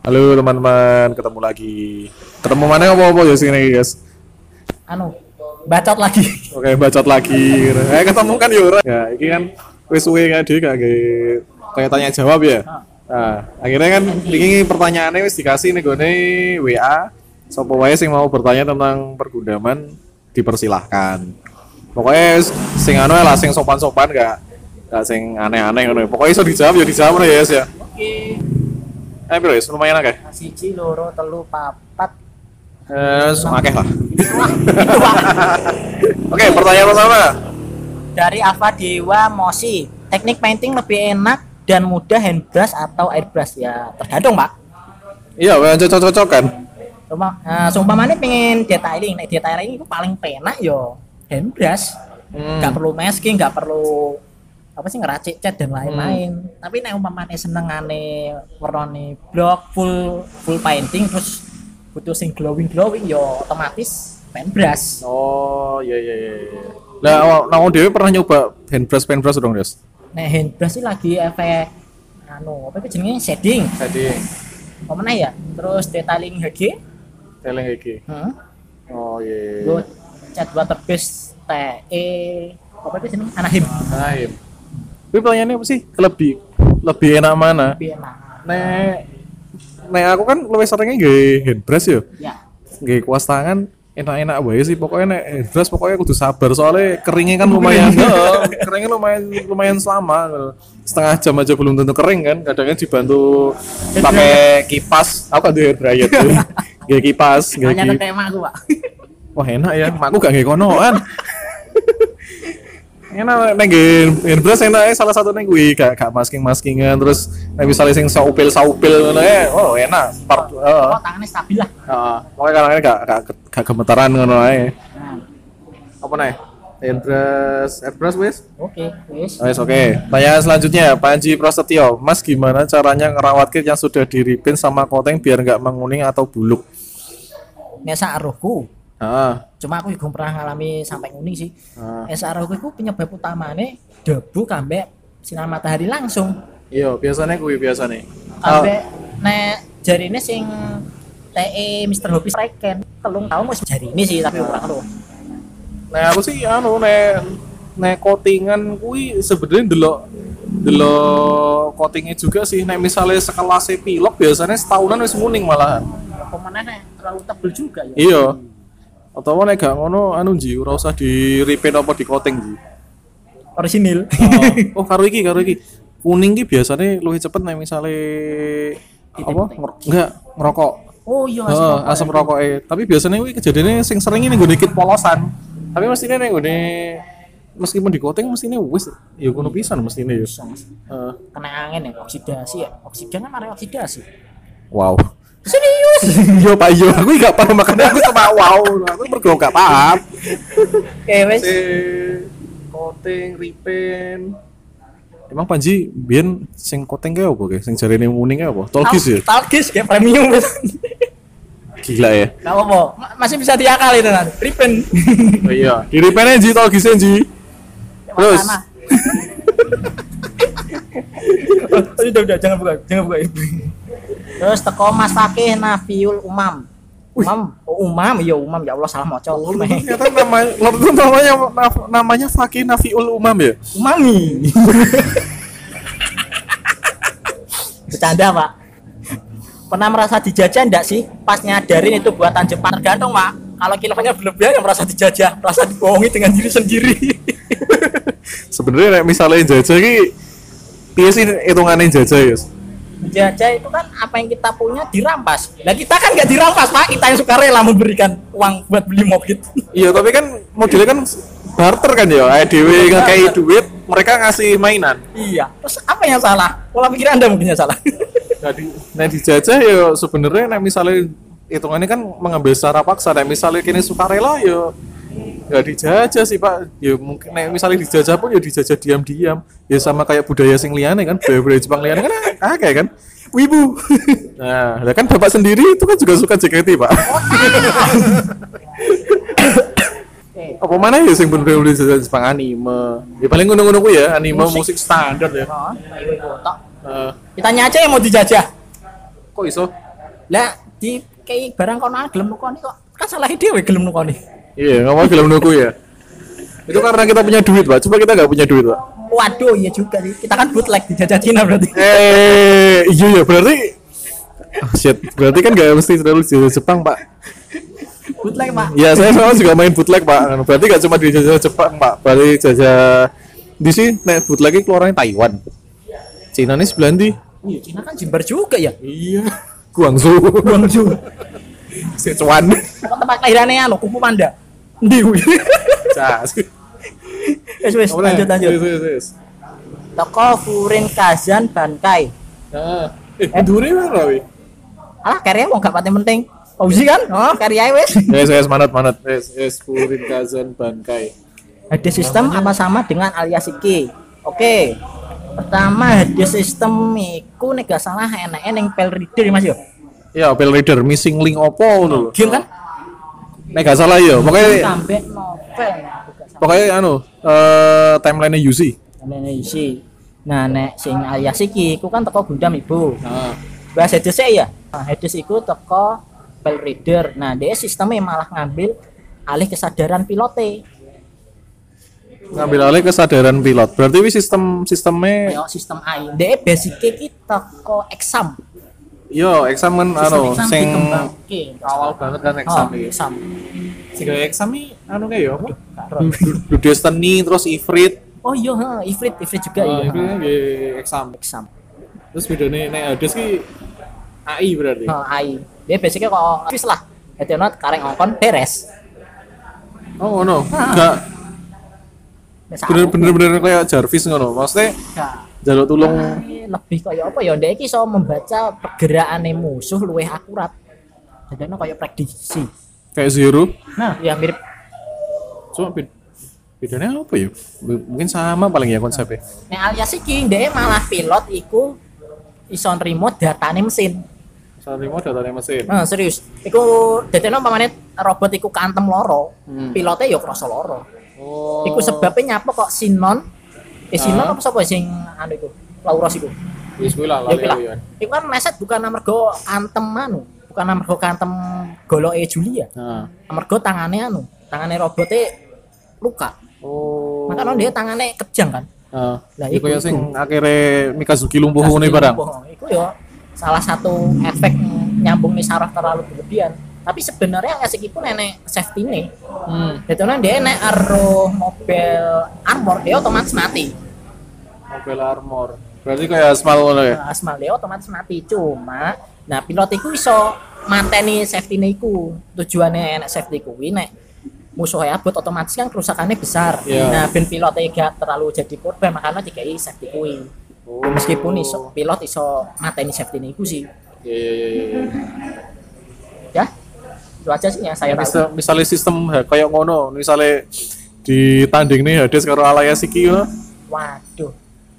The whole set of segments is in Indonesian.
Halo teman-teman, ketemu lagi. Ketemu mana apa-apa ya sini guys. Bacot lagi. Oke, bacot lagi. Ketemu kan ya ora. Ya, ini kan wis suwe kan dhewe gak kayak tanya jawab ya. Nah, akhirnya kan ini pertanyaannya wis dikasih nih gone WA. Sapa wae sing mau bertanya tentang pergudaman dipersilahkan. Pokoknya sing anu lah sing sopan-sopan gak sing aneh-aneh ngono. Pokoknya iso dijawab ya dijawab ya guys ya. Oke. Bro, lumayan akeh. 1, 2, 3, 4. Akeh lah. Oke, pertanyaan pertama. Dari Ava Dewa Mosi, teknik painting lebih enak dan mudah handbrush atau airbrush ya tergantung Pak. Iya, cocok-cocok kan. Seumpamanya pengen detailing, detailing itu paling penak yo handbrush. Nggak perlu masking, nggak perlu apa sih ngeracik cat dan lain-lain. Tapi nek umpamane senengane warnane blok full painting terus butuh sing glowing yo otomatis paintbrush. Oh, iya. Lah, nang dhewe pernah nyoba paintbrush dong, Des? Nek handbrush sih lagi efek apa itu jenenge shading. Apa meneh ya? Terus detailing HG. Oh, iya. Go cat water base TE apa itu jenenge Anaheim. Tapi pertanyaannya apa sih? Lebih enak mana? Lebih enak. Nek aku kan lebih seringnya nggawe handbrush ya. Ya. Nggawe kuas tangan enak-enak wae sih pokoknya nek handbrush pokoknya kudu sabar soalnya keringnya kan lumayan keringnya lumayan selama setengah jam aja belum tentu kering kan kadang kan dibantu pakai kipas aku kan tuh hair dryer tuh nggawe kipas Hanya tema aku Pak. wah enak ya makku gak nggawe konoan enak nek airbrush enak salah satu nek kuwi gak maskingan terus nek misalnya sing saupil ngono oh enak Tangannya stabil lah. Heeh. Pokoke karangane gak gemetaran ngono ae. Apa nih? Airbrush wis? Oke, wis. Oke. Tanya selanjutnya, Panji Prasetyo. Mas gimana caranya ngerawat kit yang sudah diripin sama coating biar nggak menguning atau buluk? Nesa aruhku. Heeh. Cuma aku juga pernah ngalami sampai nguning sih. SRO itu penyebab utamanya debu kambek sinar matahari langsung. Iya, biasanya Kambek nek jarine sing TE Mr. Hobi Reken telung tahun wis jarine sih tapi ora ngono. Nah, aku sih nek coatingan kuwi sebenarnya delok coatingnya juga sih. Nek misalnya sekelas pilok biasanya setahunan wis nguning malahan. Pemenang nek terlalu tebel juga ya. Iya. Atau nek gak ngono Ji, ora usah di repaint apa di coating Ji. Orisinil. Oh, karo iki. Kuning ki biasanya luwih cepet nek misale apa? Enggak ngerokok. Oh iya, asam rokok. Tapi biasanya kuwi kejadiannya sing sering ini nggone dikit polosan. Tapi mestine nek nggone meskipun di coating mestine wis ya ngono pisan mestine ya. Kena angin ya, oksidasi ya. Oksigen kan mari oksidasi. Wow. Serius? Yo Pak yo, aku gak paham makanya aku cuma wow, aku mergo gak paham. Oke wis. Coating, repaint. Emang Panji biyen sing coating kae opo ge? Sing jarene muning kae opo? Tolkis ya? Tolkis kayak premium wis. Gila ya. Enggak apa-apa. Masih bisa diakali tenan. Repaint. Oh iya, di repaint Ji Tolkis Ji. Terus. Udah, jangan buka ibu. Terus teko Mas Fakih Nafiul Umam. Umam ya Allah salah maca. Ternyata namanya Fakih Nafiul Umam ya? Umami. Bercanda Pak. Pernah merasa dijajah enggak sih? Pas nyadarin itu buatan Jepang tergantung Pak. Kalau kilonya berlebihan yang merasa dijajah, merasa dibohongi dengan diri sendiri. Sebenarnya misalnya jajah ki piye sih hitungane jajah ya? Jajah itu kan apa yang kita punya dirampas. Nah kita kan nggak dirampas Pak, kita yang suka rela memberikan uang buat beli mobil. Iya tapi kan modelnya kan barter kan ya, dewe ngekei duit, mereka ngasih mainan. Iya, terus apa yang salah? Pola pikir Anda mungkin yang salah. Jadi, dijajah ya sebenarnya misalnya hitungannya kan mengambil secara paksa. Misalnya kini suka rela ya nggak dijajah sih Pak. Ya mungkin misalnya dijajah pun ya dijajah diam-diam. Ya sama kayak budaya sing liyane kan, budaya Jepang liyane kan kayak kan. Wibu. Nah, kan Bapak sendiri itu kan juga suka JKT, Pak. Apa mana ya sing bener-bener Jepang anime. Ya paling ngono-ngono ku ya, anime musik standar ya. Kita aja yang mau dijajah. Kok iso? Lah di kayak barang kono gelem nukoni kok kan salah dhewe gelem nukoni. Iya, ngomong gelem nuku ya. Itu karena kita punya duit, Pak. Coba kita nggak punya duit, Pak. Waduh, iya juga sih. Kita kan bootleg dijajah Cina berarti. Iya ya, berarti shit, berarti kan nggak mesti terlalu di Jepang, Pak. Bootleg, Pak. Ya, saya soalnya juga main bootleg, Pak. Berarti nggak cuma di jajah Jepang, Pak. Berarti jajah di sini nek bootleg keluarannya Taiwan. Cina nih sebelah ndi? Iya, Cina kan Jember juga ya. Iya. Guangzhou. Guangzhou. Sichuan. Kok tempat kelahirannya anu Kung Fu Panda. Ndi kuwi? Cas. Wes lanjut. Wes. Toko Furin Kazan Bankai. Heeh. Dure mana wi? Alah karya wong gak pati penting. Pausi kan? Oh, karya wes. Yes, manat. Yes, Furin Kazan Bankai. HD sistem apa sama dengan alias iki? Oke. Pertama HD sistem iku nek gak salah enake ning file reader Mas yo. Ya, file reader missing link opo ngono lho. Game kan? Nek gak salah ya, Sampai novel. pokoknya timeline-nya UC. Timeline isi. Nah, nek sing alias iki iku kan teko Gundam Ibu. Heeh. Bahas Hades ya. Nah, Hades iku teko file reader. Nah, dia sistemnya malah ngambil alih kesadaran pilote. Ngambil alih kesadaran pilot. Berarti wi sistemnya Kayak sistem AI. Dia basicnya iki teko exam. yo eksamen Sistem exam sing dikembangke. awal banget kan exam iki. Exam. Sing exam iki kayak yo apa? Karo. Du Destiny terus Ifrit. Oh iya, Ifrit juga iya. Itu nggih exam. Exam. Terus bedane nek Hades ki AI berarti. AI. Dia basicnya kok office lah. Jadi not kareng ngongkon beres. Oh ngono. Enggak bener-bener kayak Jarvis ngono. Maksudnya jaluk tulung lebih kayak apa ya? Dia iki iso membaca pergerakan musuh luwih akurat. Jadi kayak prediksi. kayak Zero. Nah, ya mirip. Cuma bedanya apa ya? Mungkin sama paling ya konsepnya. Nek alias iki dia malah pilot iku iso nrimo datane mesin. Saat remote datanya mesin. Nah, serius. Iku dadene umpamane robot iku kantem loro, pilotnya ya krasa loro. Oh. Iku sebabnya nyapa kok Sinon. Sinon apa sapa sing anu iku? Lauros iku. Wis kuwi lah Ya kuwi lah. lali ya. Iku kan meset bukan amarga kantem anu, bukan amarga kantem goloke Julia. Heeh. Amarga tangane robotnya luka. Oh. Makanya dia tangannya kejang kan. Heeh. Lah, Iku ya iku. sing akhirnya Mikazuki lumpuh ngono barang. Iku ya salah satu efek nyambung nih saraf terlalu berlebihan. Tapi sebenarnya ngasih iku nenek safety nih. Jadi dia nek aruh mobil armor dia otomatis mati. Mobil armor. Berarti kayak Asmal ngono ya. Nah, Asmal dia otomatis mati. Cuma, nah pilot iku iso mateni safety iku. Tujuannya enak safety kuwi nek musuhnya abot otomatis kan kerusakannya besar. Yeah. Nah, ben pilotnya gak terlalu jadi korban makanya dikai safety kuwi. Oh. Meskipun iso pilot iso mateni safety iku sih. Iya. Ya. Itu aja sih yang saya tahu. Misalnya sistem kayak ngono, misalnya ditanding nih Hades karo alias iki yo. Waduh.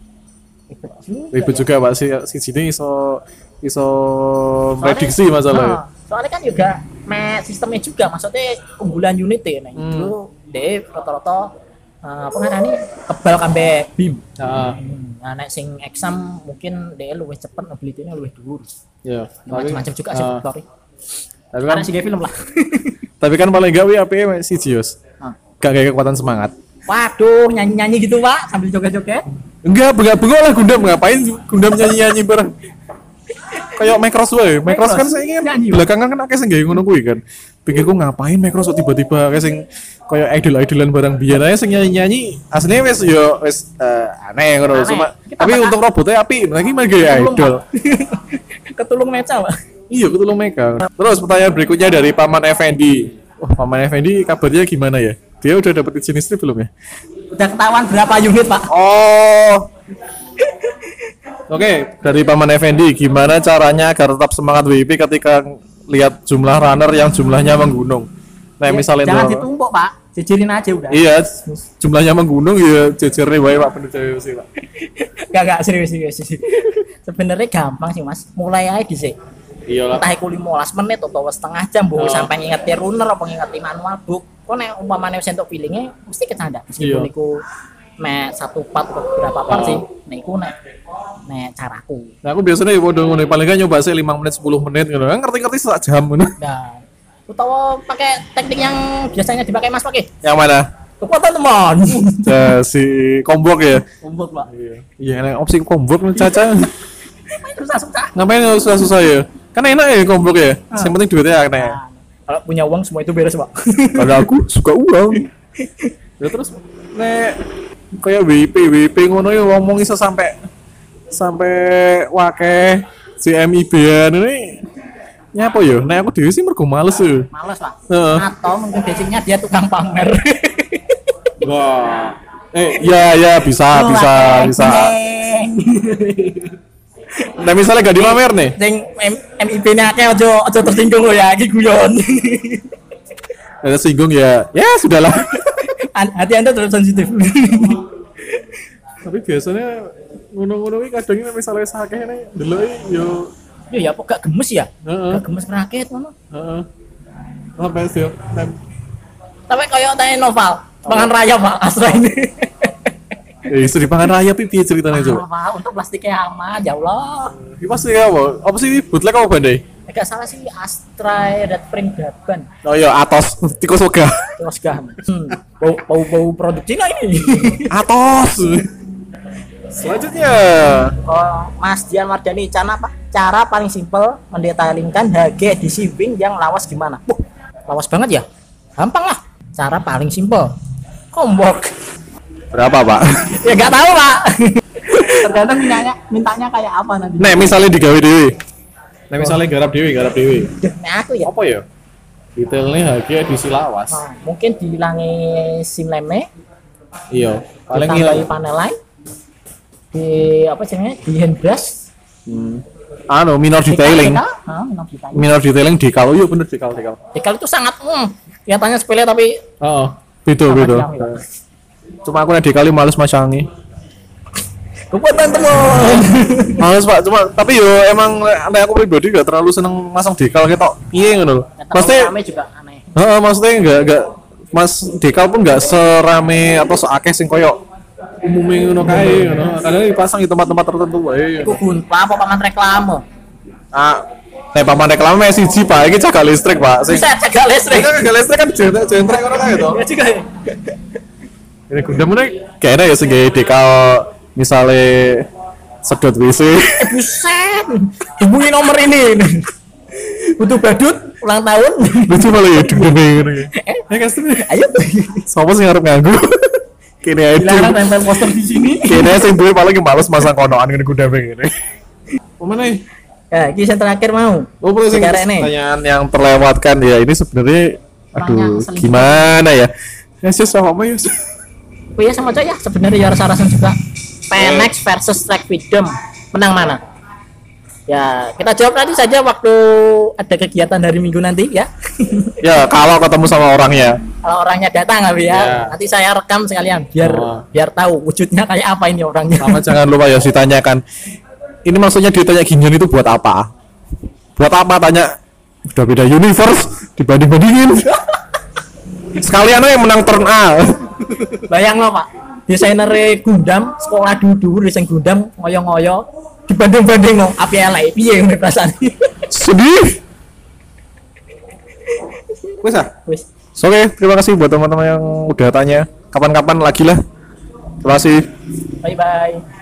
Ribet juga Pak si sini iso prediksi masalahnya. Soalnya kan juga sistemnya juga maksudnya unggulan unit ya nih. Dulu dia rata-rata apa ngarani kebal kambe beam. Heeh. Nah, nek sing exam mungkin dia luwih cepet ability-nya luwih dhuwur. Iya. Macam-macam juga sih faktornya. Tapi kan Karena sih film lah. tapi kan paling enggak wi APE si Jios. Gak kayak kekuatan semangat. Waduh, nyanyi-nyanyi gitu, Pak, sambil joget-joget. Enggak, bengak-bengok lah Gundam ngapain Gundam nyanyi-nyanyi bareng. Kayak Macross wae. Macross kan saya ingin Nyanyi. belakangan kan akeh sing gawe ngono kuwi kan. Pikirku ngapain Macross kok tiba-tiba kayak sing kayak idol-idolan barang biyen ae sing nyanyi-nyanyi. Asline wis aneh ngono Aneh. cuma Kita tapi bakal- untuk robotnya api lagi mah gaya idol. Ketulung meca, Pak. Iya, ketulung Mega. Terus pertanyaan berikutnya dari Paman Effendi. Oh, Paman Effendi kabarnya gimana ya? Dia udah dapat izin istri belum ya? Udah ketahuan berapa unit, Pak? Oh. Oke, dari Paman Effendi, gimana caranya agar tetap semangat WIP ketika lihat jumlah runner yang jumlahnya menggunung? Nah, misalnya jangan tuh- ditumpuk, Pak. Jejerin aja udah. Iya, jumlahnya menggunung ya jejer wae Pak bener jaya sih, Pak. Gak serius. Sebenarnya gampang sih, Mas. Mulai aja dhisik. Iyalah. Entah iku 15 menit atau setengah jam Oh. sampai ngingeti runner apa ngingeti manual book. Kok nek umpamane wis entuk feelinge mesti kecanda meskipun Iya. iku mek satu part atau berapa part sih. Nah iku nek caraku. Nah, aku biasanya ya podo ngono, paling gak nyoba sih 5 menit 10 menit ngono. Kan ngerti-ngerti sak jam ngono. Nah, utawa pakai teknik yang biasanya dipakai Mas pakai. Yang mana? Kekuatan teman. Ya, si kombok ya. Kumpul, Pak. Iya, nek opsi kombok Caca. Susah-susah. Ngapain susah-susah ya? Kan enak ya kombok ya. Yang penting duitnya akeh. Nah, kalau punya uang semua itu beres, Pak. Kalau aku suka uang. Ya terus nek kayak WP ngono ya ngomong iso sampai wake CMIB-an ini nyapa yo? Nek aku dhewe sih mergo males yo. Males, Pak. Heeh. Atau mungkin basicnya dia tukang pamer. Wah. Ya bisa. Nah misalnya gak dipamer nih. Sing MIB-nya akeh aja tersinggung lo ya, iki guyon. Ada singgung ya sudahlah. Hati Anda terlalu sensitif. Tapi biasanya ngono-ngono iki kadang nek misalnya sakeh nek ndeloki yo Ya kok gak gemes ya? heeh. Gak gemes rakit ngono. Heeh. Apa sih? Tapi kayak tanya novel, pangan raya Pak Astra ini. Isu di pangan raya piye ceritanya coba? Pak, untuk plastiknya aman, ya Allah. Iki pasti apa? Apa sih bootleg apa bandai? Gak salah sih Astra Red Spring Gaban. Oh iya, Atos tikus oga. Terus gam. Bau produk Cina ini. Atos. Selanjutnya, Mas Dian Mardani, cara paling simpel mendetailingkan HG di shipping yang lawas gimana? Lawas banget ya? Gampang lah. Cara paling simpel. Kombok. berapa pak? Ya nggak tahu Pak. Tergantung mintanya kayak apa nanti. Nek misalnya digawe dewe. Nek misalnya garap dewe. Nah aku ya. Apa ya? Detailnya HG edisi lawas. Mungkin dihilangi sim leme. Iya. Paling Ditambahi ngilang. panel lain. Di apa namanya? Di handbrush. Minor detailing. Minor detailing dekal. Iya bener dekal. Dekal itu sangat kelihatannya sepele tapi Beda. jam, ya. Cuma aku nek dekali males masangi. Kekuatan teman. Males pak, tapi yo emang nek aku pribadi gak terlalu seneng masang dekal ketok. Piye ngono lho. Maksudnya Rame juga aneh. maksudnya enggak Mas dekal pun enggak serame atau seakeh sing koyo umumnya ngono kae ngono. Kadang dipasang di tempat-tempat tertentu wae. Iku gunpla apa paman reklame? Nek paman reklame siji Pak, iki jaga listrik Pak. Bisa jaga listrik. Jaga listrik kan jentrek ngono kae to. Ya juga ya. Ini Gundam ini kayaknya ya sing gawe dekal misale sedot WC. Buset. Hubungi nomor ini. Butuh badut ulang tahun. Lucu malah ya Gundam ngono ya. Customer. Ayo. Sopo sing arep nganggo? Kene ae. Dilarang tempel poster di sini. Kene sing duwe paling males masang konoan ngene Gundam ngene. Pemene? Ya, ini yang terakhir mau. Sing pertanyaan yang terlewatkan ya ini sebenarnya aduh gimana ya? Ya sih sama Yus. Oh iya sama aja ya sebenarnya ya rasa-rasan juga. PNX versus Track Freedom menang mana? Ya kita jawab nanti saja waktu ada kegiatan hari Minggu nanti ya. Ya kalau ketemu sama orangnya. Kalau orangnya datang ya. Nanti saya rekam sekalian biar tahu wujudnya kayak apa ini orangnya. Sama jangan lupa ya ditanyakan. Ini maksudnya ditanya ginian itu buat apa? Buat apa tanya? Udah beda universe dibanding-bandingin. Sekalian aja yang menang turn A. Bayang lo Pak, desainer Gundam sekolah dulu desain Gundam ngoyo-ngoyo dibanding-banding lo api elek piye ngene perasaan. Sedih. Wis. Oke, terima kasih buat teman-teman yang udah tanya. Kapan-kapan lagi lah. Terima kasih. Bye bye.